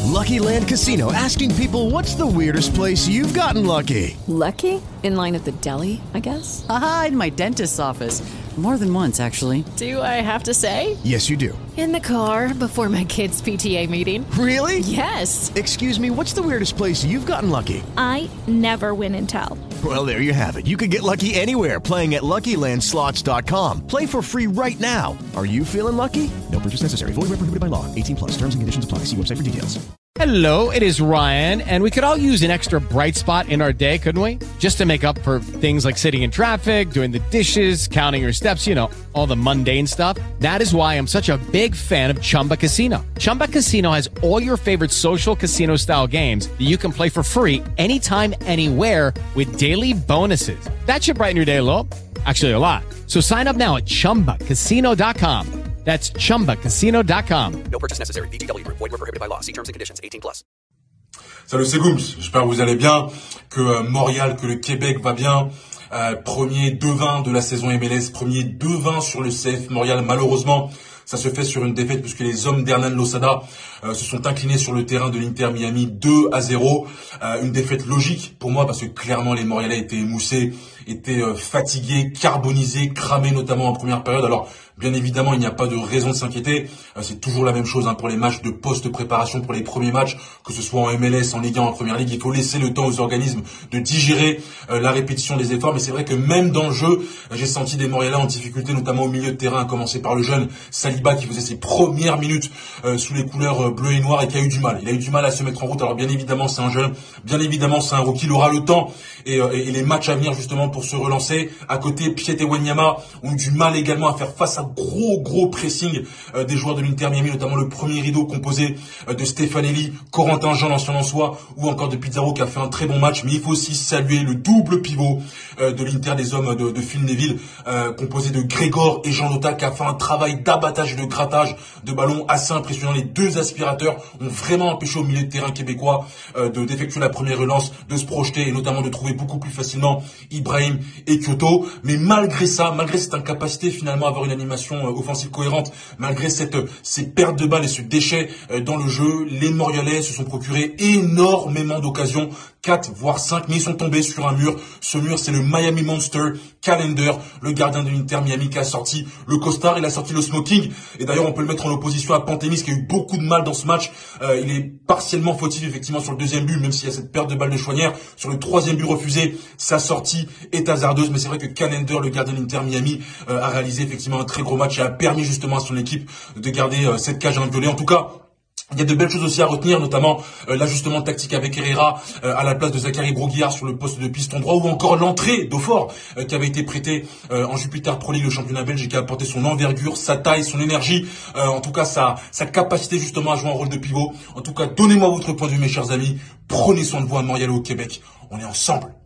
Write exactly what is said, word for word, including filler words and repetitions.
Lucky Land Casino, asking people, what's the weirdest place you've gotten lucky? Lucky? In line at the deli, I guess? Aha, in my dentist's office. More than once, actually. Do I have to say? Yes, you do. In the car before my kids' P T A meeting. Really? Yes. Excuse me, what's the weirdest place you've gotten lucky? I never win and tell. Well, there you have it. You can get lucky anywhere, playing at Lucky Land Slots dot com. Play for free right now. Are you feeling lucky? No purchase necessary. Void where prohibited by law. eighteen plus. Terms and conditions apply. See website for details. Hello, it is Ryan, and we could all use an extra bright spot in our day, couldn't we? Just to make up for things like sitting in traffic, doing the dishes, counting your steps, you know, all the mundane stuff. That is why I'm such a big fan of Chumba Casino. Chumba Casino has all your favorite social casino-style games that you can play for free anytime, anywhere with daily bonuses. That should brighten your day a little. Actually, a lot. So sign up now at chumba casino dot com. That's chumba casino dot com. No purchase necessary. V G W Group. Void where prohibited by law. See terms and conditions. eighteen plus. Salut, c'est Gooms. J'espère que vous allez bien, que euh, Montréal, que le Québec va bien. Euh, premier deux vingt de la saison M L S, premier deux vingt sur le C F Montréal. Malheureusement, ça se fait sur une défaite puisque les hommes d'Hernan Losada euh, se sont inclinés sur le terrain de l'Inter Miami deux à zéro. Euh, une défaite logique pour moi parce que clairement les Montréalais étaient émoussés, étaient euh, fatigués, carbonisés, cramés notamment en première période. Alors bien évidemment, il n'y a pas de raison de s'inquiéter. Euh, c'est toujours la même chose hein, pour les matchs de post-préparation, pour les premiers matchs, que ce soit en M L S, en Ligue un, en Première Ligue. Il faut laisser le temps aux organismes de digérer euh, la répétition des efforts. Mais c'est vrai que même dans le jeu, euh, j'ai senti des Montréalais en difficulté, notamment au milieu de terrain, à commencer par le jeune Saliba qui faisait ses premières minutes euh, sous les couleurs euh, bleues et noires et qui a eu du mal. Il a eu du mal à se mettre en route. Alors bien évidemment, c'est un jeune, bien évidemment, c'est un rookie. Il aura le temps et, euh, et les matchs à venir justement pour se relancer. À côté, Piet et Wanyama ont eu du mal également à faire face à gros gros pressing euh, des joueurs de l'Inter Miami, notamment le premier rideau composé euh, de Stefanelli, Corentin Jean, l'ancien Lensois, ou encore de Pizarro qui a fait un très bon match. Mais il faut aussi saluer le double pivot euh, de l'Inter des hommes de, de Phil Neville, euh, composé de Grégor et Jean Lota, qui a fait un travail d'abattage et de grattage de ballon assez impressionnant. Les deux aspirateurs ont vraiment empêché au milieu de terrain québécois euh, de d'effectuer la première relance, de se projeter et notamment de trouver beaucoup plus facilement Ibrahim et Kyoto. Mais malgré ça, malgré cette incapacité finalement à avoir une animation euh, offensive cohérente, malgré cette ces pertes de balles et ce déchet euh, dans le jeu, les Montréalais se sont procurés énormément d'occasions, quatre voire cinq, mais ils sont tombés sur un mur. Ce mur, c'est le Miami Monster Callender, le gardien de l'Inter Miami qui a sorti le costard, il a sorti le smoking, et d'ailleurs on peut le mettre en opposition à Pantémis qui a eu beaucoup de mal dans ce match. Euh, il est partiellement fautif effectivement sur le deuxième but, même s'il y a cette perte de balle de Chouanière. Sur le troisième but refusé, sa sortie est hasardeuse, mais c'est vrai que Callender, le gardien de l'Inter Miami, euh, a réalisé effectivement un très gros match et a permis justement à son équipe de garder euh, cette cage inviolée. En tout cas, il y a de belles choses aussi à retenir, notamment euh, l'ajustement tactique avec Herrera euh, à la place de Zachary Broguillard sur le poste de piston droit, ou encore l'entrée d'Aufort euh, qui avait été prêté euh, en Jupiter Pro League, le championnat belge, et qui a apporté son envergure, sa taille, son énergie, euh, en tout cas sa, sa capacité justement à jouer un rôle de pivot. En tout cas, donnez-moi votre point de vue mes chers amis, prenez soin de vous à Montréal et au Québec, on est ensemble.